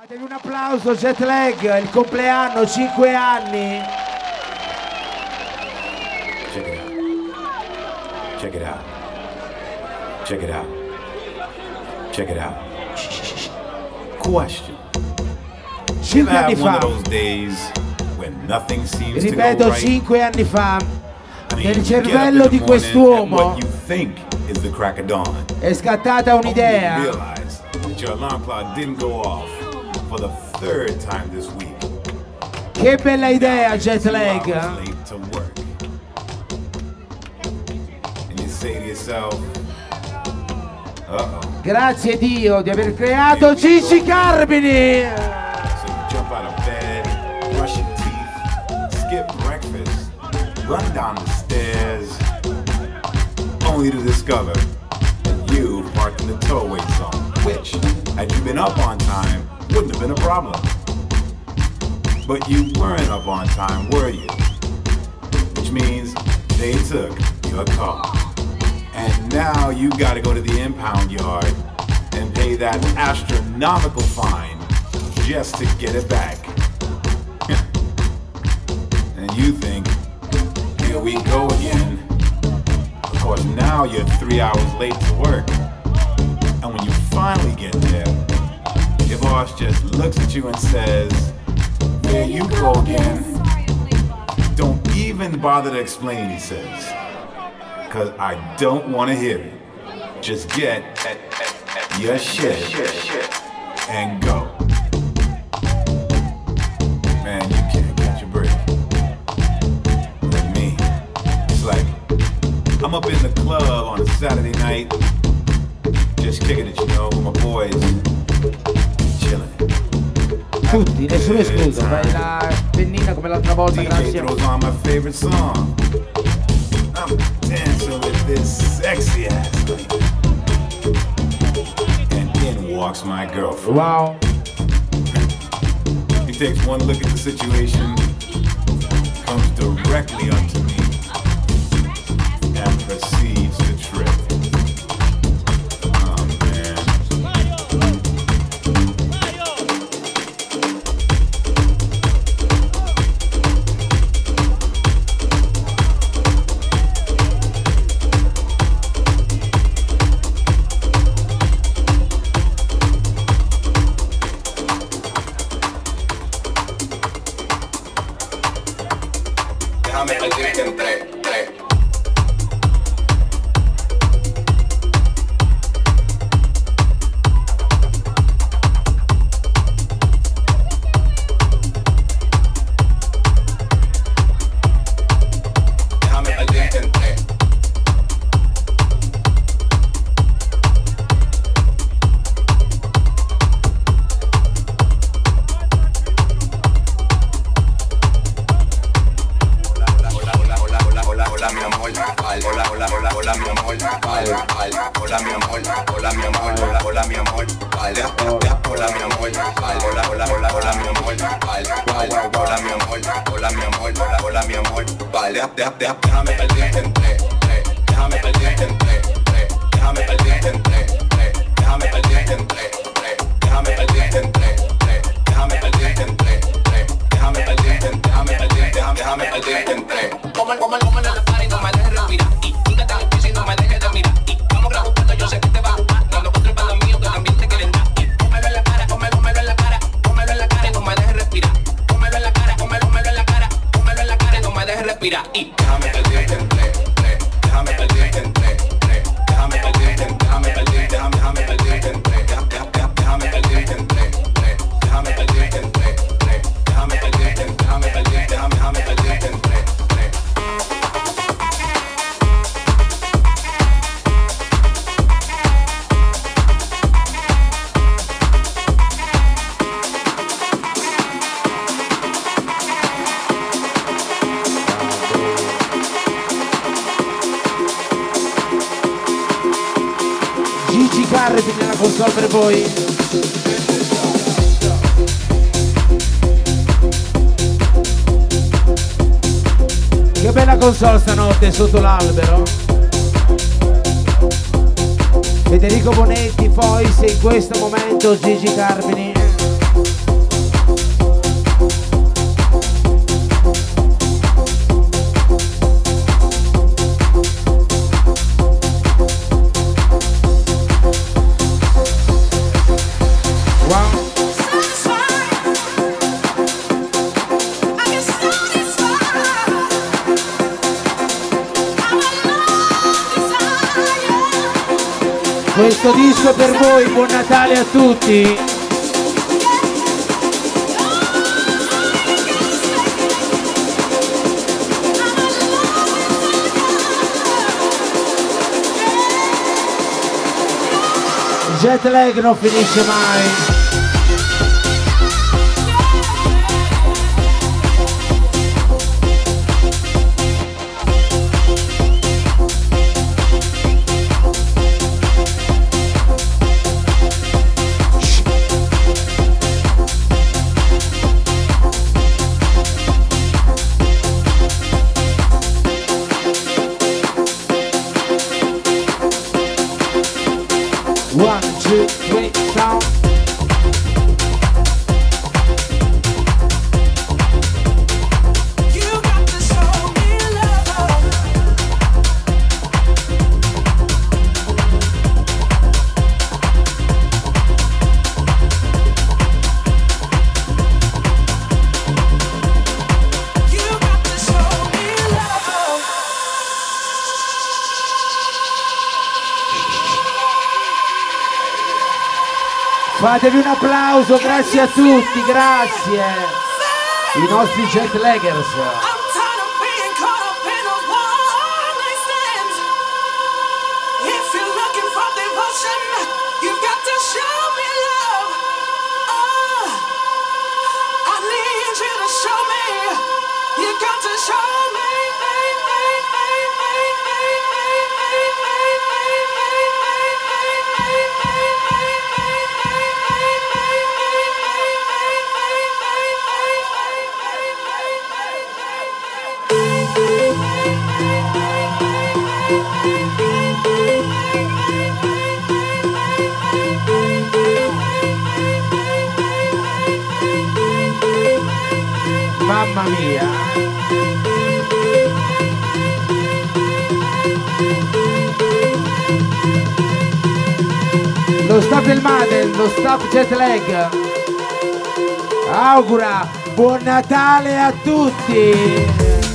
Datevi un applauso, Jetlag, il compleanno, 5 anni. Check it out. Check it out. Check it out. Check it out. Question. 5 anni fa. Ripeto, 5 anni fa. Nel cervello di quest'uomo è scattata un'idea. Che bella idea, Jetlag. Grazie Dio di aver creato Gigi Carmine. Run down the stairs, only to discover that you parked in the tollway zone, which, had you been up on time, wouldn't have been a problem. But you weren't up on time, were you? Which means they took your car. And now you gotta go to the impound yard and pay that astronomical fine just to get it back. And you think, here we go again. Of course, now you're 3 hours late to work. And when you finally get there, your boss just looks at you and says, there you go again. Don't even bother to explain, he says. Cause I don't want to hear it. Just get your shit and go. Man, you can't catch a break. I'm up in the club on a Saturday night, just kicking it, you know, with my boys, chilling. Tutti, nessuno escluso, fai la pennina come l'altra volta, grazie. DJ throws on my favorite song. I'm dancing with this sexy ass lady. And in walks my girlfriend. Wow. He takes one look at the situation, comes directly up to me, and proceeds to trip. Oh man. Déjame decirte en tres. Déjame perderte en tres. Déjame perderte en tres. Déjame perderte en tres. Déjame perderte en tres. Déjame perderte en tres. Déjame perderte en tres. Déjame perderte en déjame perderte en tres. Como en el party, no me dejes respirar. Y tú que estás difícil, no me dejes de mirar. Y vamos grabando cuando yo sé que te va a gustar. Dando contra el palo mío que también te quieren dar. Y pómelo en la cara, pómelo en la cara. Pómelo en la cara y no me dejes respirar. Pómelo en la cara, pómelo en la cara. Pómelo en la cara y no me dejes respirar. Y déjame perderte en tres. Déjame perderte en tres. Déjame perderte en déjame perderte en tres. Déjame perderte en tres. Déjame perderte en tres. Déjame perderte en déjame perderte en tres. Gigi Carreti nella console per voi. Che bella console stanotte sotto l'albero. Federico Bonetti, poi se in questo momento Gigi Carmini. Questo disco per voi, buon Natale a tutti. Il jet lag non finisce mai. Fatevi un applauso, grazie a tutti, grazie. I nostri jet laggers. Mamma mia. Lo staff del Madden, lo staff jet lag augura buon Natale a tutti.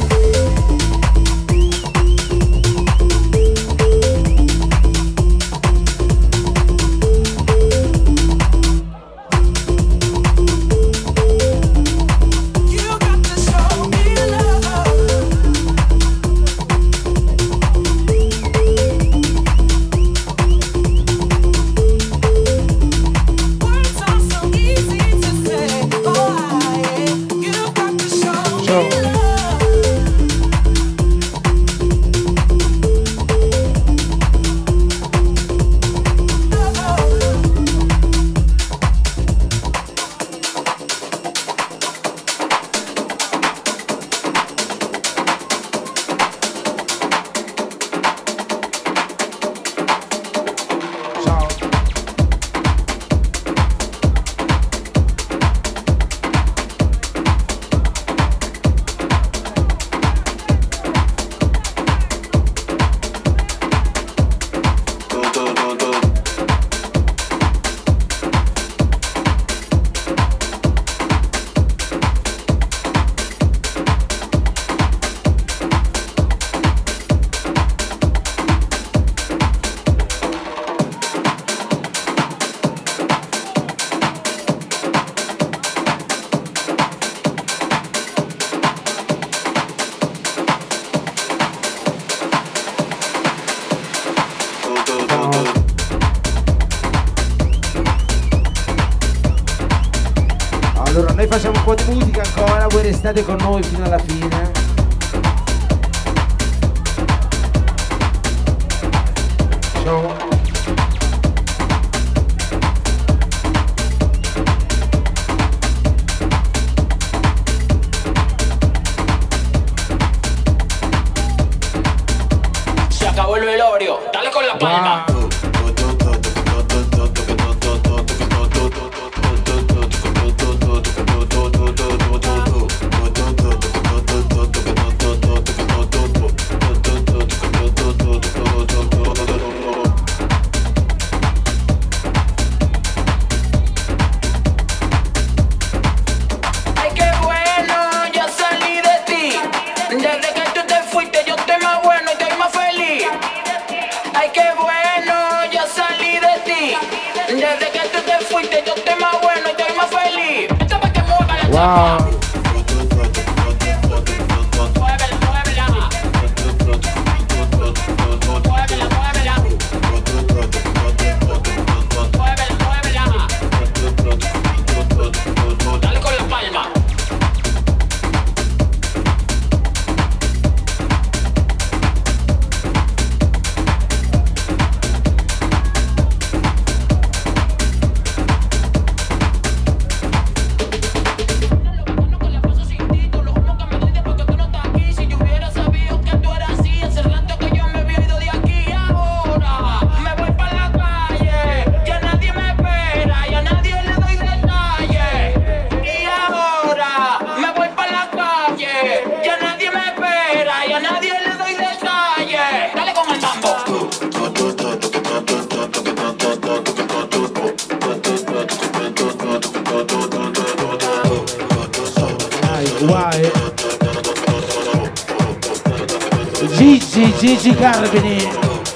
Allora noi facciamo un po' di musica ancora, voi restate con noi fino alla fine. Ciao. Se acabó el velorio, dale con la palma. Wow. Wow. Gigi Carbini.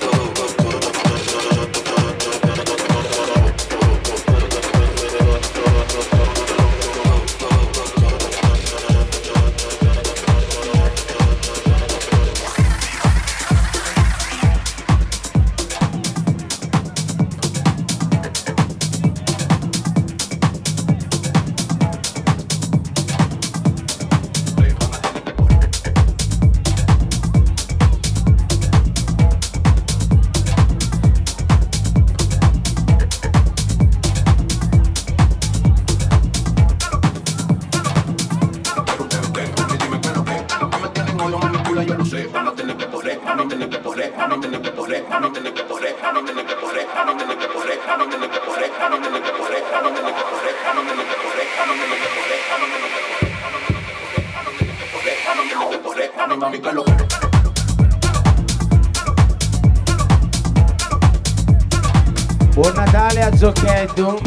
Buon Natale a Zocchetto.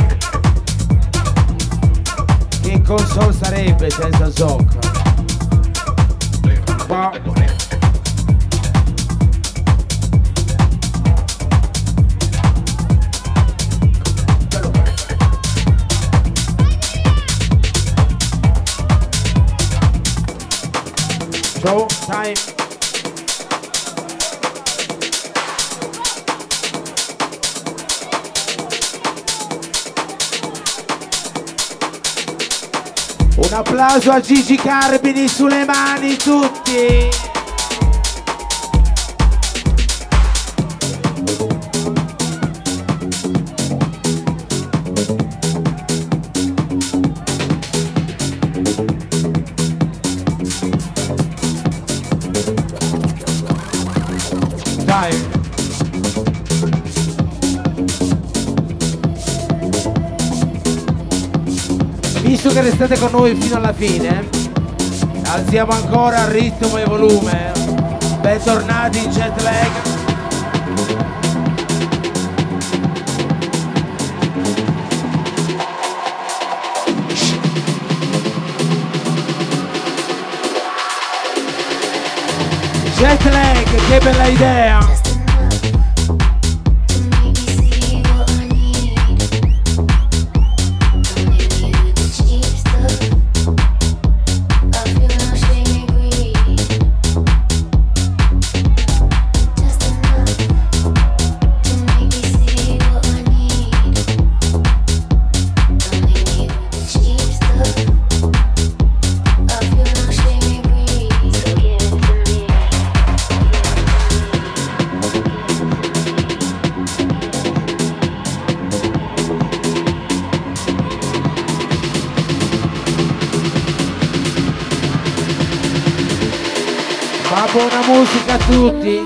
Che console sarebbe senza Zoc? Show time. Un applauso a Gigi Carbini, sulle mani tutti. Dai. Visto che restate con noi fino alla fine, alziamo ancora il ritmo e volume. Bentornati in jet lag. Jet lag, che bella idea! Ma buona musica a tutti!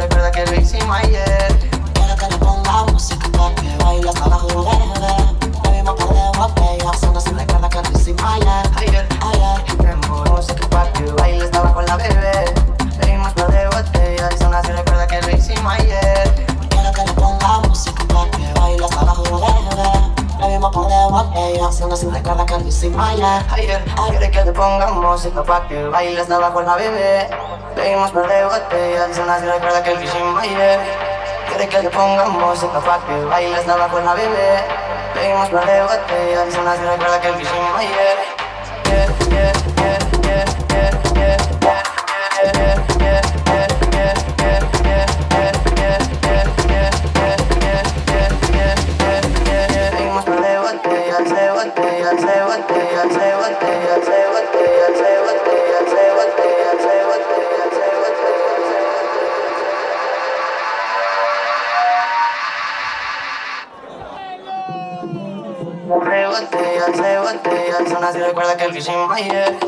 recuerda que lo hicimos ayer. Quiero que le ponga música pa' que baile hasta abajo, bebé. Bebimos par de botellas, uno se recuerda que lo hicimos ayer. Ayer, tenemos música pa' que baile hasta abajo la bebé. Bebimos par de botellas, uno se recuerda que lo hicimos ayer. Quiero que le ponga música pa' que baile hasta abajo, bebé. Bebimos par de botellas, uno se recuerda que lo hicimos ayer. Quiero que le ponga música pa' que baile hasta abajo la bebé. Bebimos par de botellas, uno se recuerda que lo hicimos ayer. Quiere que le ponga música pa' que baile hasta abajo la bebé. Bebimos par de botellas, uno se recuerda que lo hicimos ayer. Bebimos par de botellas, de botellas, de botellas, de botellas, de botellas, de botellas, de botellas, de botellas, de botellas, de botellas, una se recuerda que lo hicimos ayer.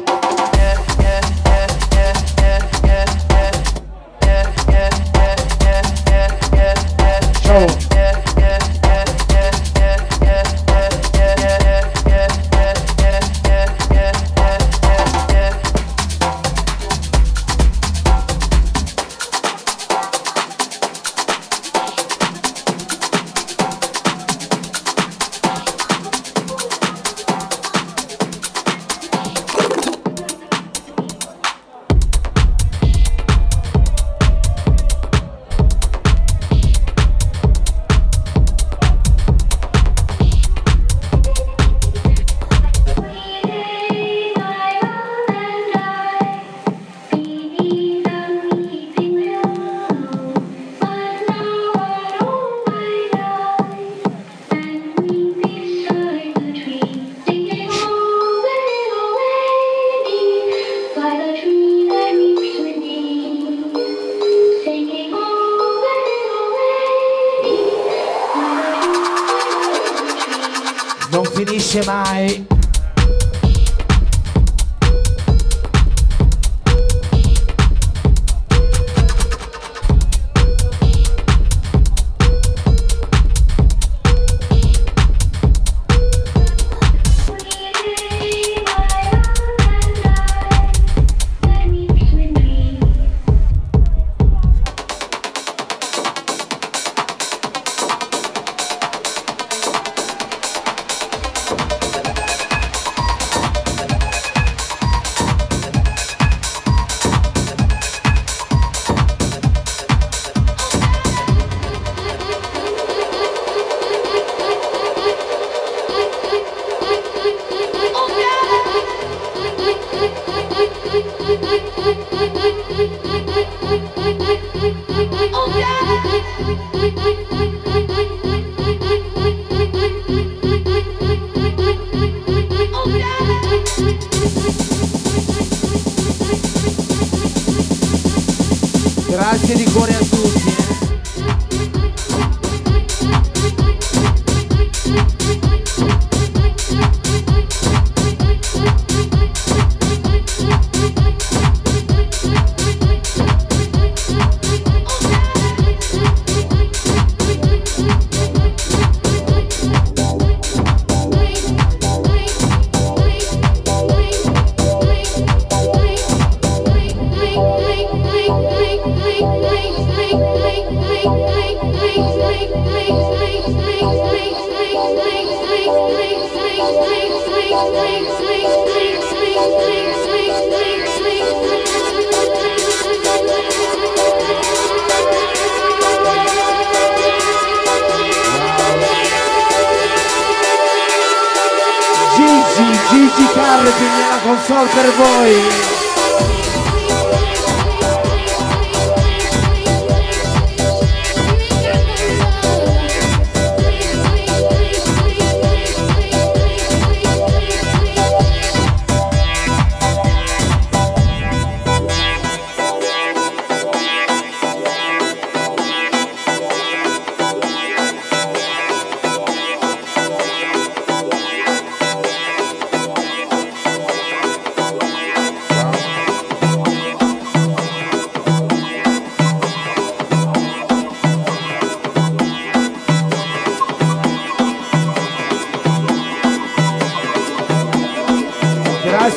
Non finisce mai. Grazie di cuore a tutti. Gigi Carpini alla console per voi.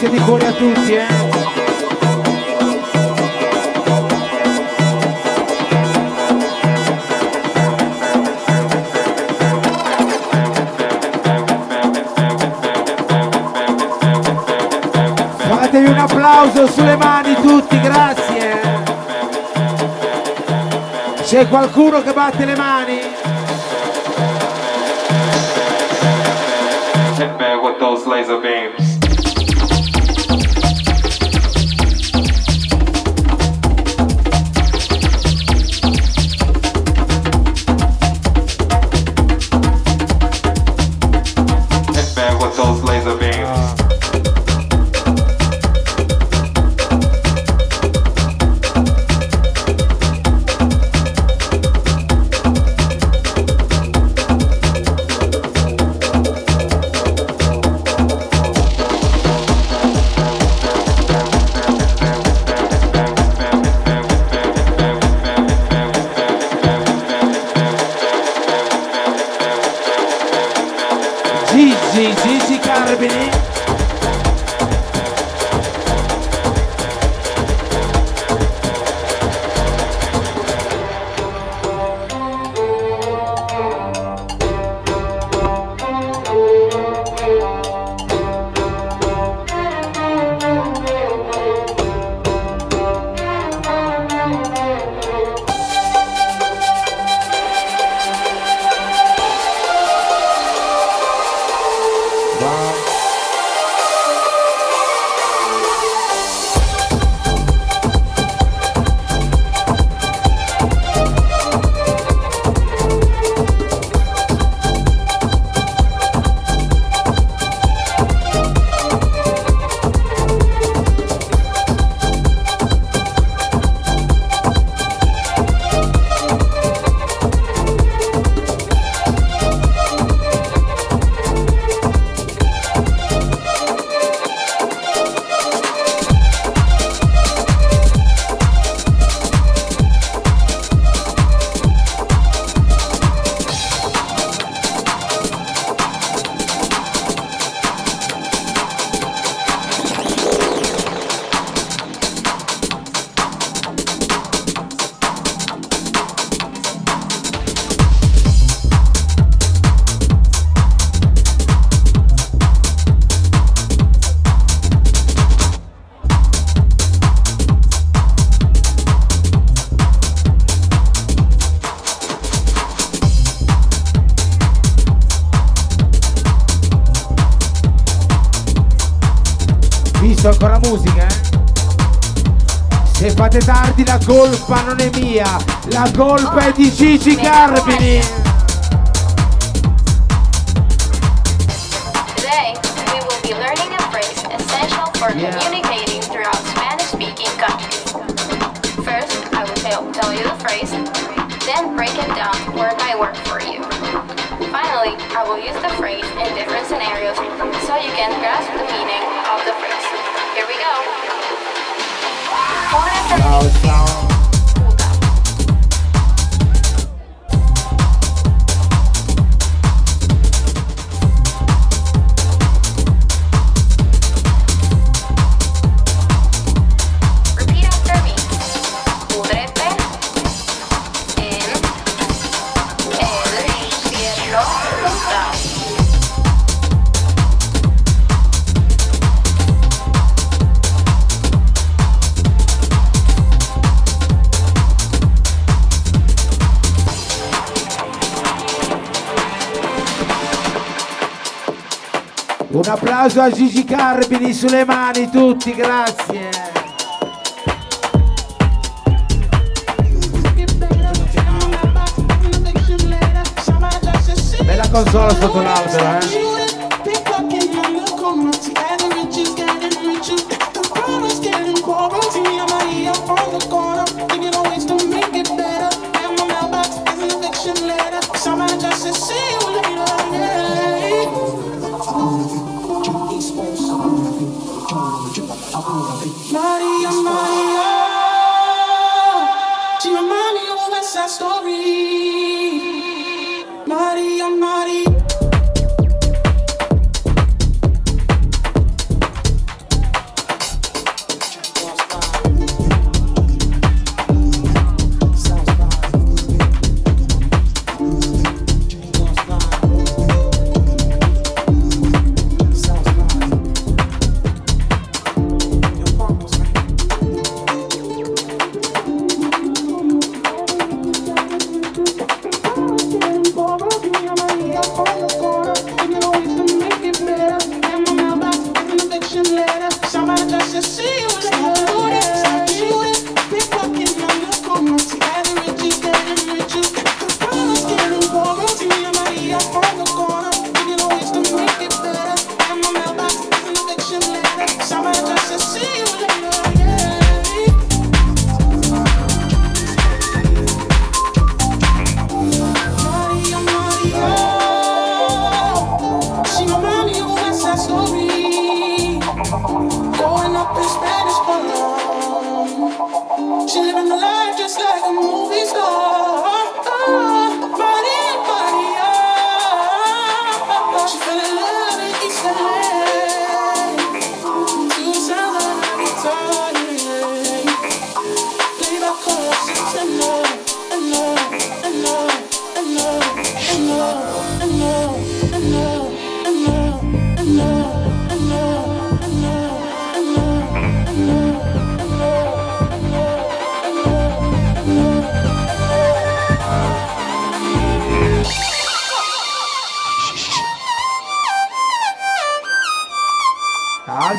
Grazie di cuore a tutti, Fatevi un applauso sulle mani tutti, grazie. C'è qualcuno che batte le mani? Hit me with those laser beams. Hit me with those laser beams. Gigi Carbini. Ancora musica, Se fate tardi la colpa non è mia, la colpa è di Gigi Carbini. Today we will be learning a phrase essential for communicating throughout Spanish-speaking countries. First, I will tell you the phrase, then break it down word by word for you. Finally, I will use the phrase in different scenarios so you can grasp the meaning of the phrase. Here we go. Ciao. Repeat after me. Pudrete en el cielo puta. Un applauso a Gigi Carbini sulle mani tutti, grazie. Bella console sotto l'albero, Maria, Maria, she remind me of a West Side Story. Maria, Maria.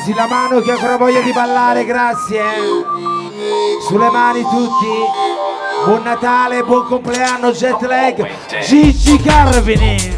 Alzi la mano chi ha ancora voglia di ballare, grazie. Sulle mani tutti. Buon Natale, buon compleanno, jet lag. Gigi Carvini.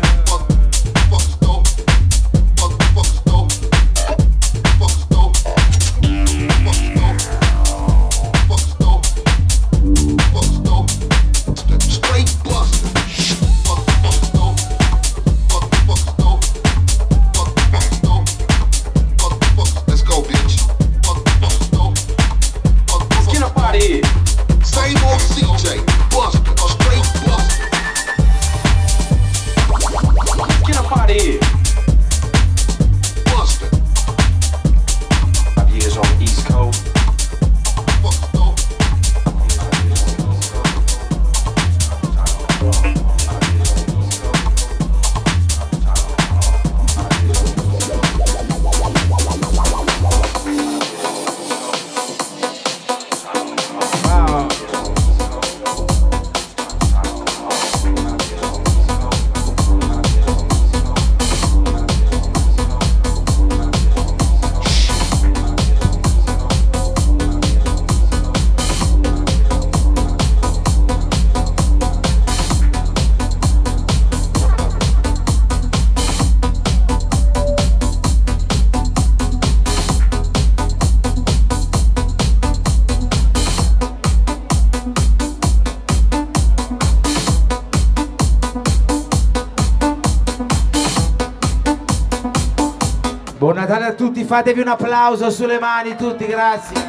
Buon Natale a tutti, fatevi un applauso sulle mani tutti, grazie.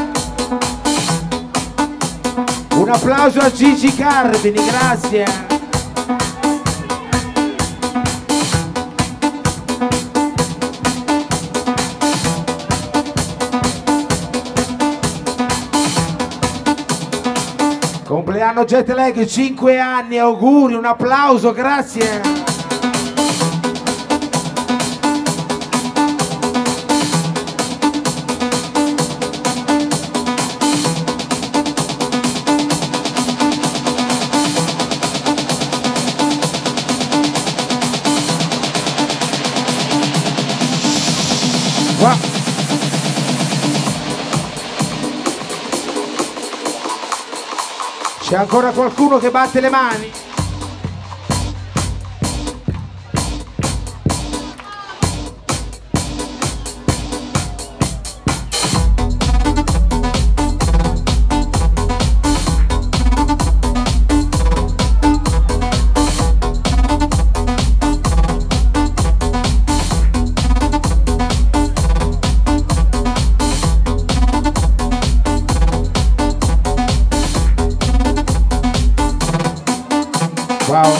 Un applauso a Gigi Carvini, grazie. Compleanno jet lag, 5 anni, auguri, un applauso, grazie. C'è ancora qualcuno che batte le mani? Wow.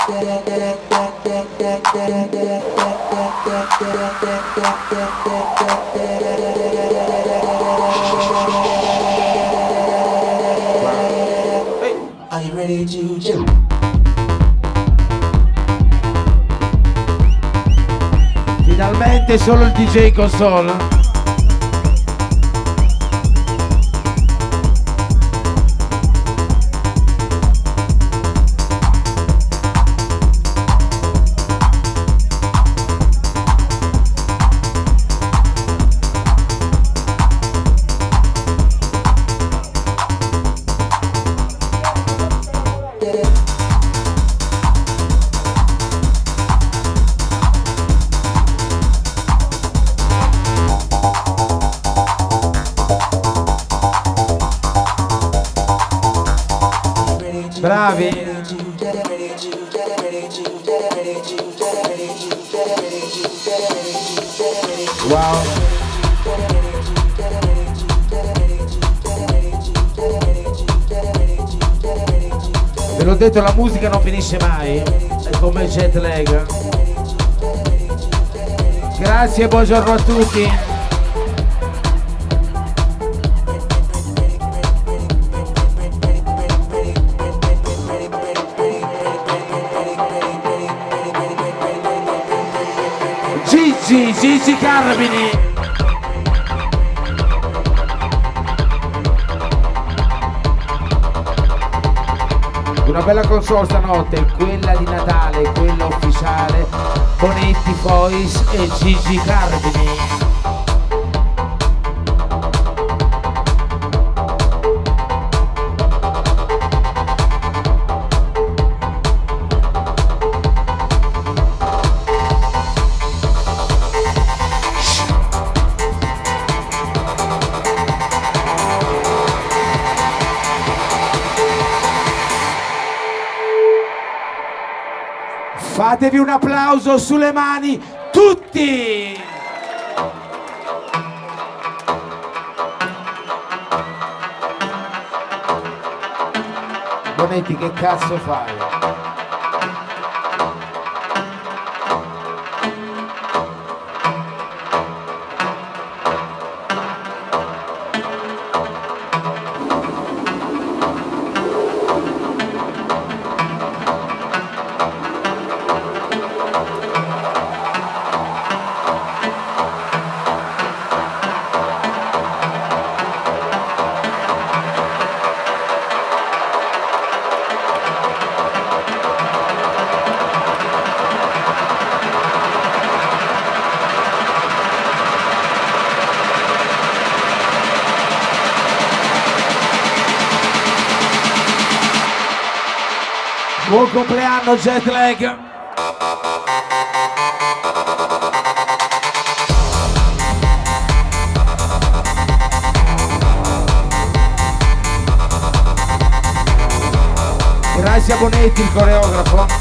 Are you ready to jump? Finalmente solo il DJ console. Bravi. Wow. Ve l'ho detto, la musica non finisce mai, è come jet lag. Grazie e buongiorno a tutti. Gigi Carmini. Una bella console stanotte, quella di Natale, quella ufficiale, Bonetti Fois e Gigi Carmini. Fatevi un applauso sulle mani tutti! Bonetti, che cazzo fai? Buon compleanno jet lag. Grazie a Bonetti, il coreografo.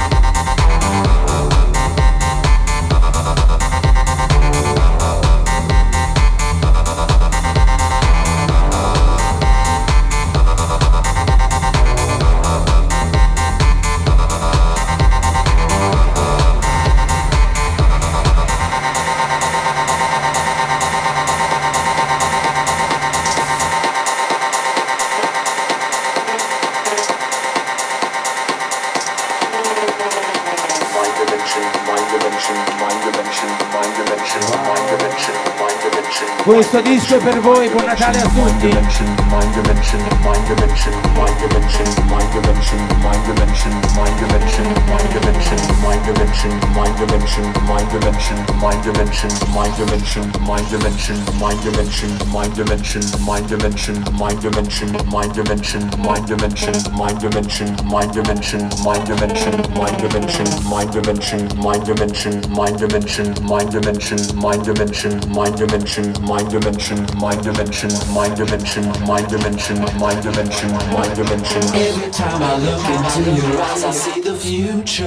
Questo disco è per voi, buon Natale a tutti. Every time I look into your eyes, I see the future.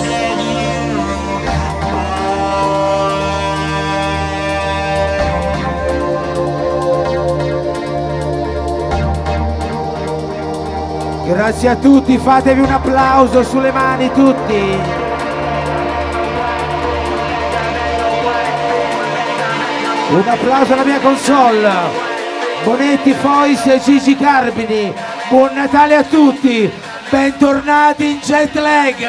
Grazie a tutti, fatevi un applauso sulle mani tutti. Un applauso alla mia console. Bonetti, Fois e Gigi Carbini. Buon Natale a tutti. Bentornati in Jet Lag.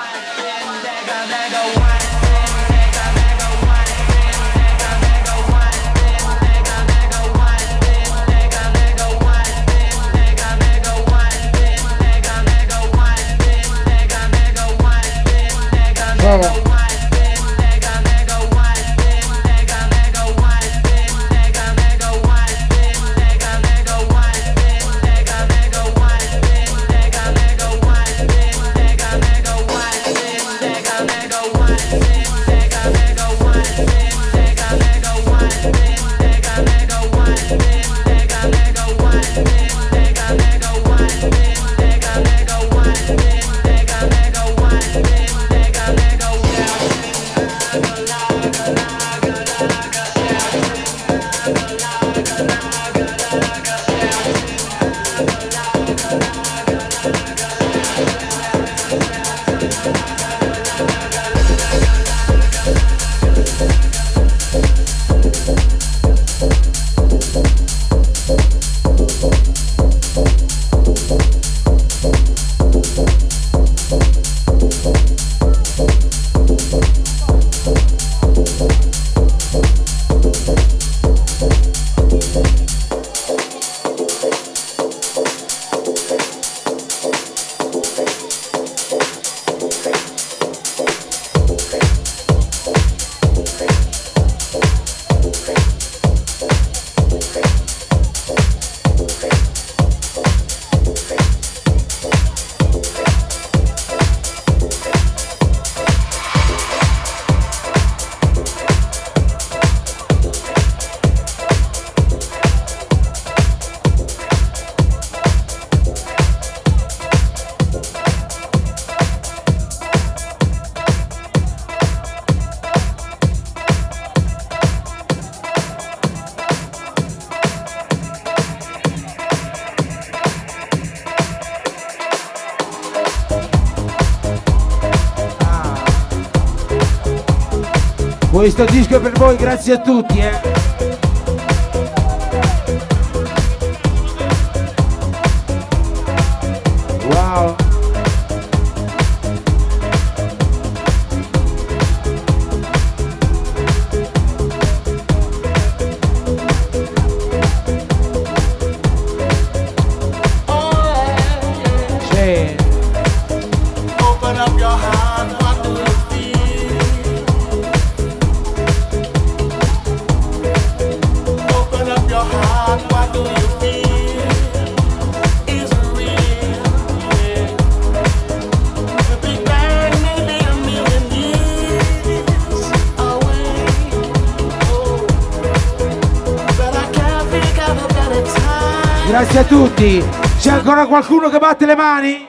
Questo disco è per voi, grazie a tutti, Wow. Sì. Open up your heart, what do you feel? Open up your heart, what do you feel? Is it real? Yeah. The Big Bang may be a million years away. Oh, but I can't think of a better time. Grazie a tutti. C'è ancora qualcuno che batte le mani?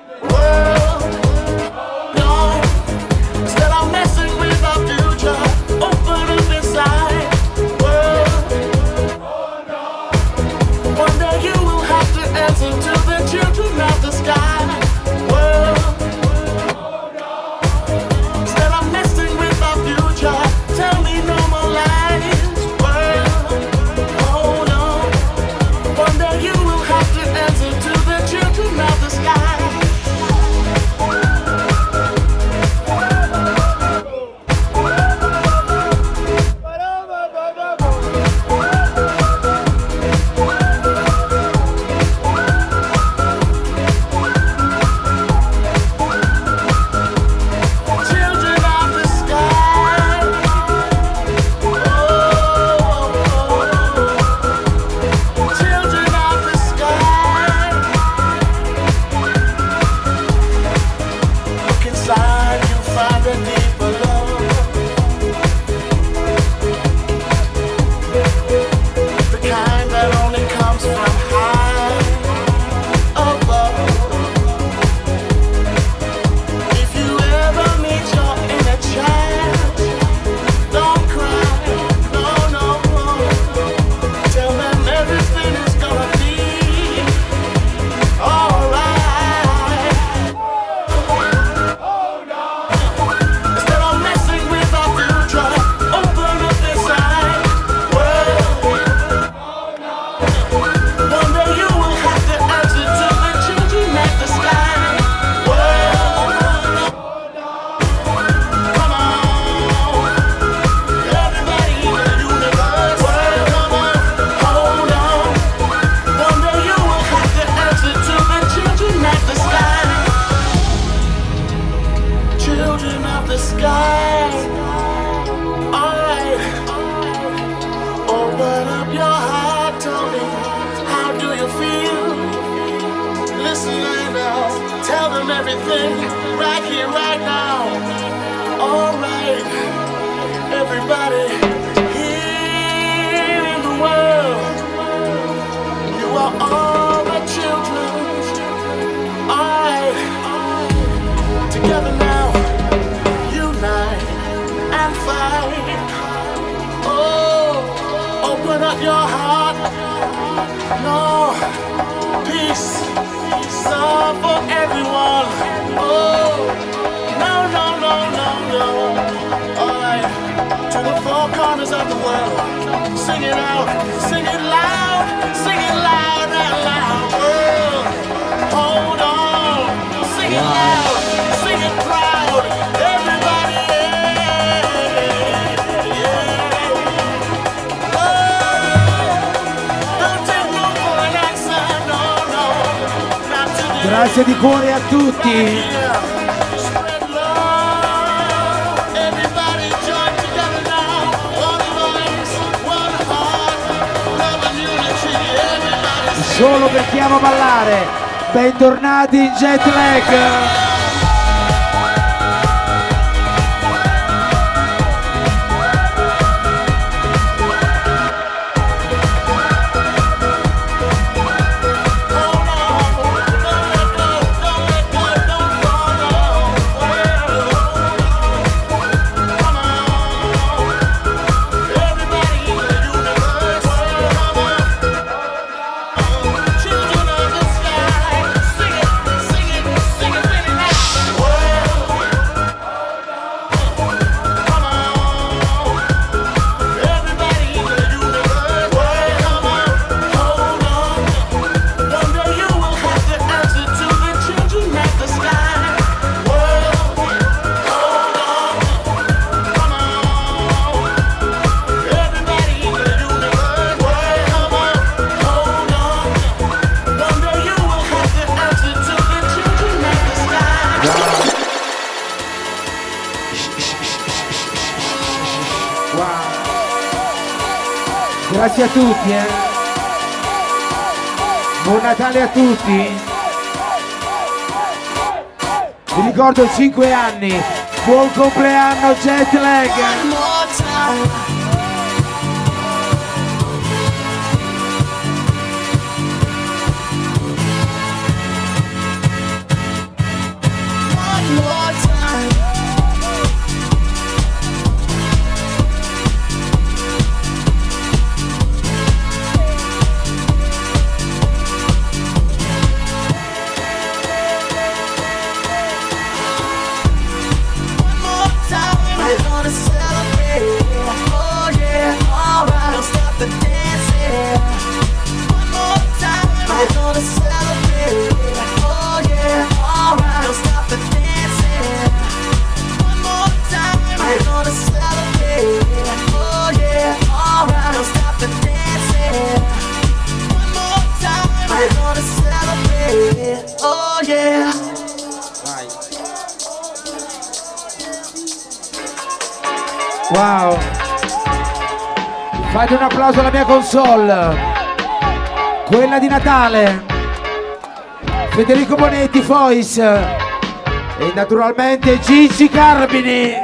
of the sky. Alright, open up your heart, tell me, how do you feel? Listen right now, tell them everything, right here, right now. Alright, everybody here in the world, you are all the children. Alright, together now, unite and fight. Oh, open up your heart. No, peace, love for everyone. Oh, no, no, no, no, no. Alright, to the four corners of the world. Sing it out, sing it loud and loud. Oh, hold on, sing it loud, sing it proud. Everybody, yeah. Oh, don't take no for an answer, no, no. Not today. Grazie di cuore a tutti. Spread love. Everybody join together now. One voice, one heart, love and unity. Everybody Solo per chi ama ballare. Bentornati in Jet Lag. children of the sky. Sing it, sing it, sing it really loud. Come on. Everybody in the universe. Come on, hold on. One day you will have to answer to the children of the sky. Hold on. Come on. Everybody in the universe. Come on, hold on. One day you will have to answer to the children of the sky. Grazie a tutti, Buon Natale a tutti. Vi ricordo 5 anni. Buon compleanno Jet Lag. One more time. One more time. One more time. We're gonna celebrate. Oh yeah, alright. Don't stop the dancing. One more time. We're gonna celebrate. Oh yeah, alright. Don't stop the dancing. One more time. We're gonna celebrate. Oh yeah, alright. Don't stop the dancing. One more time. We're gonna celebrate. Oh yeah. Wow. Fate un applauso alla mia console. Quella di Natale. Federico Bonetti, Fois. E naturalmente Gigi Carmini.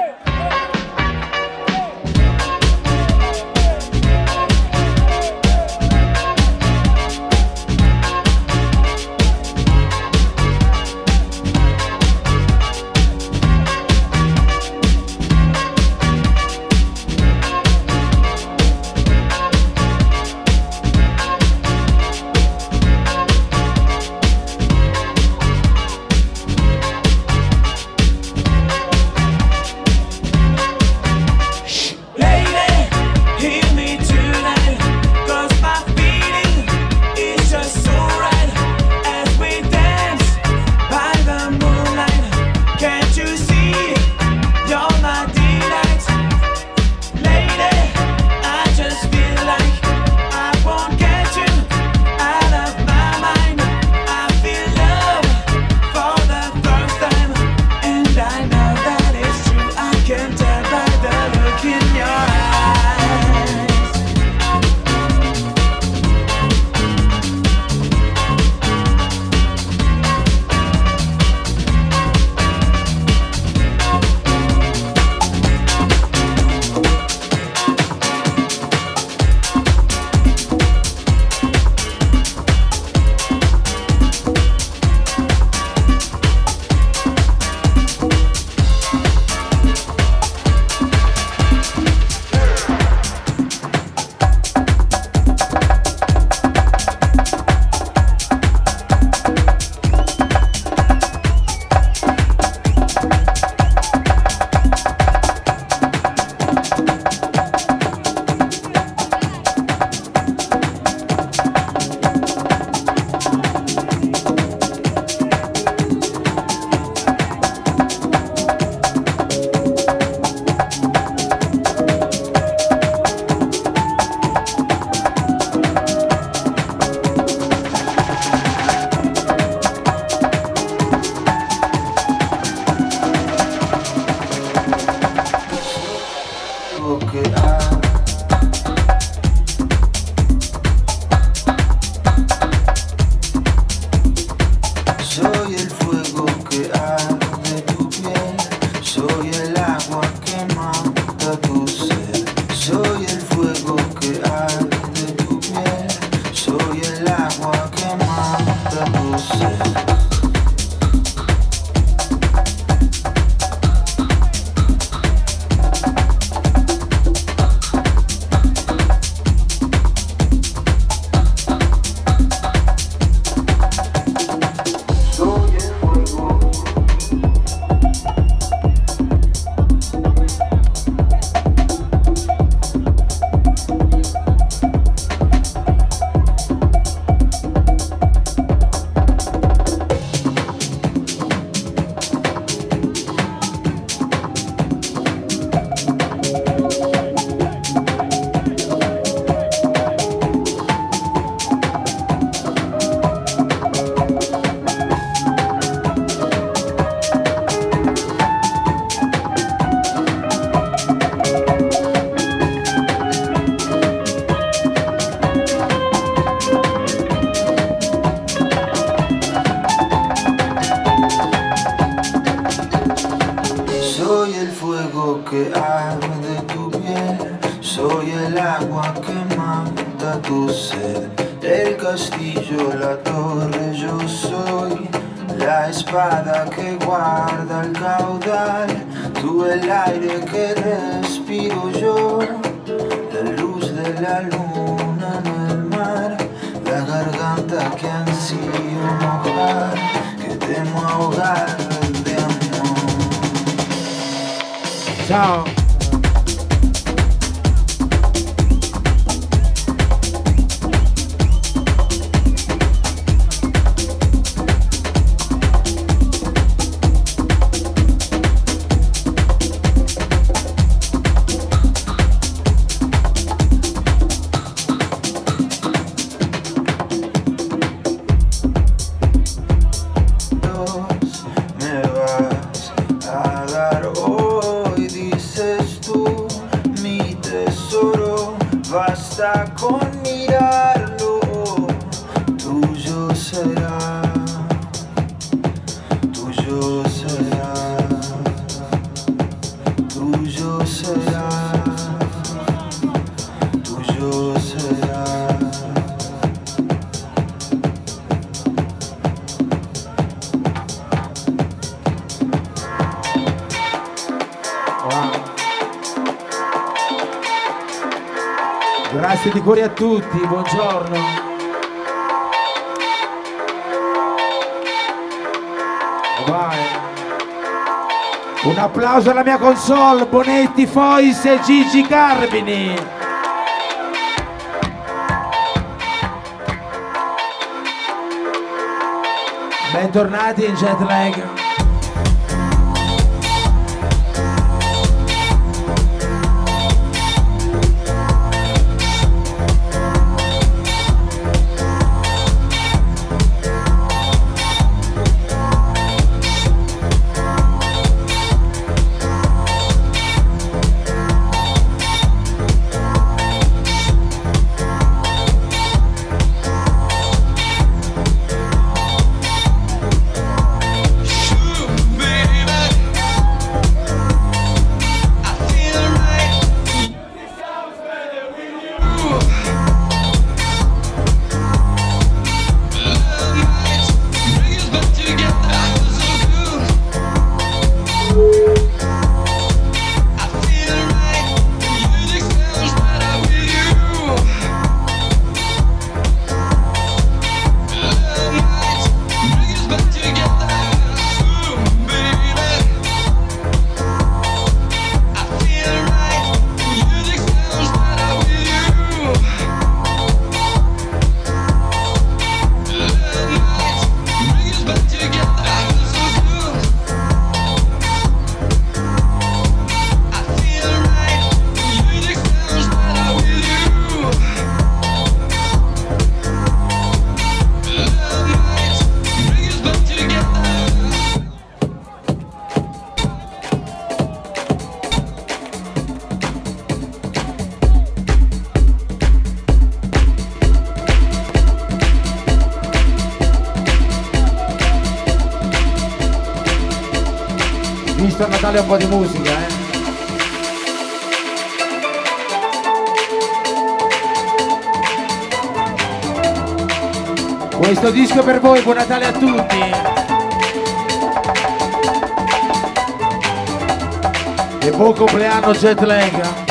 Soy el fuego que arde tu piel, soy el agua que mata tu sed, el castillo, la torre, yo soy la espada que guarda el caudal, tú el aire que respiro yo, la luz de la luna en el mar, la garganta que ansío mojar, que temo ahogar de amor. Ciao. Con mirarlo, tuyo será, tuyo será, tuyo será, tuyo será. Grazie di cuore a tutti, buongiorno. Vai. Un applauso alla mia console, Bonetti, Fois e Gigi Carmini. Bentornati in jet lag. Visto a Natale un po' di musica, Questo disco è per voi, buon Natale a tutti. E buon compleanno jet lag.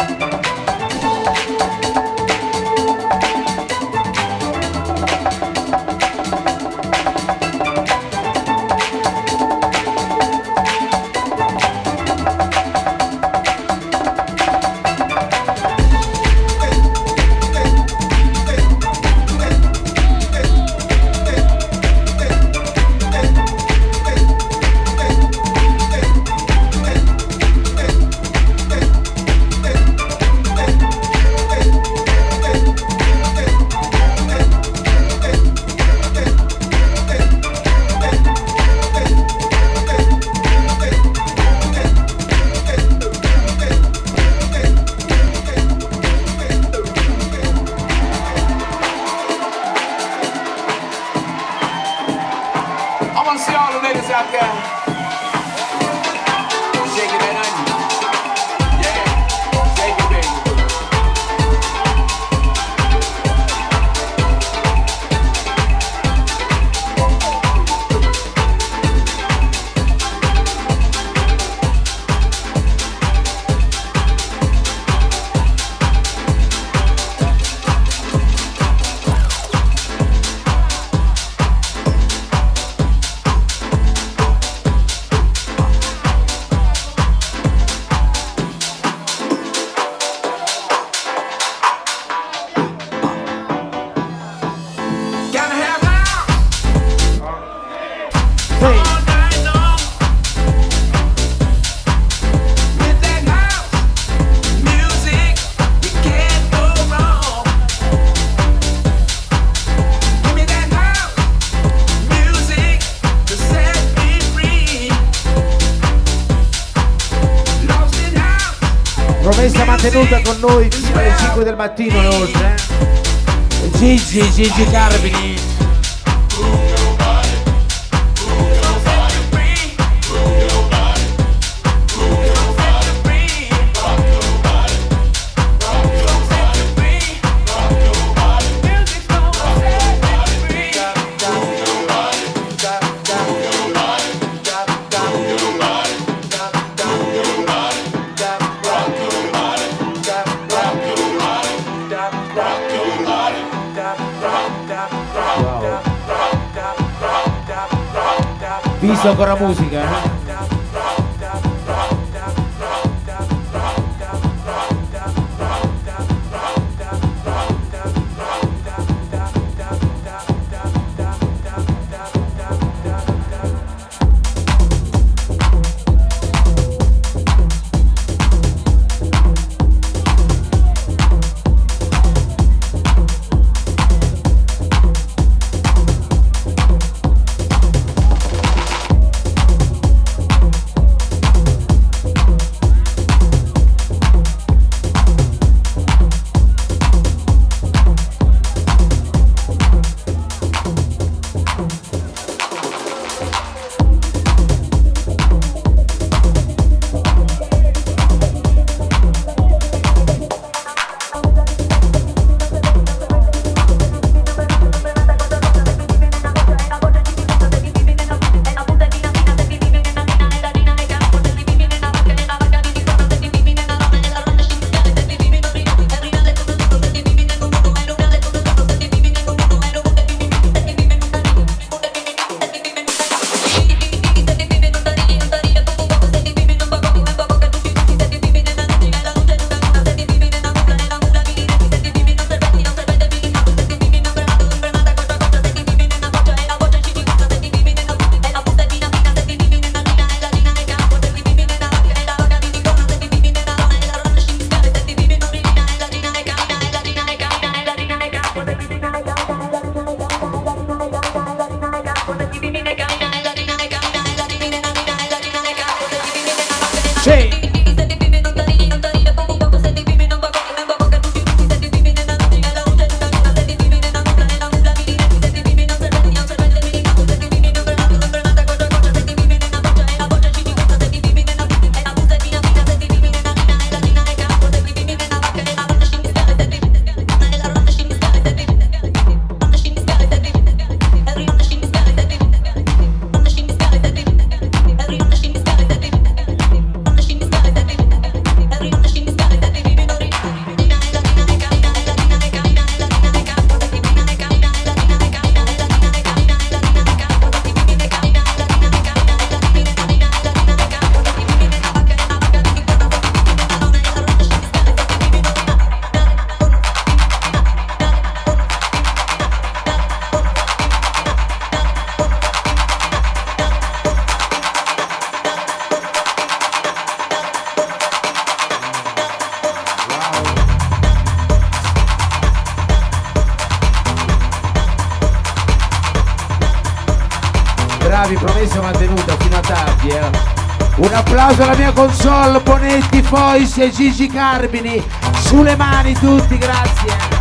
Promessa mantenuta con noi fino alle 5 del mattino inoltre. Gigi Carmini. Visto ancora musica, eh? Promessa mantenuta fino a tardi, eh. Un applauso alla mia console, Bonetti, Fois e Gigi Carmini, sulle mani tutti, grazie.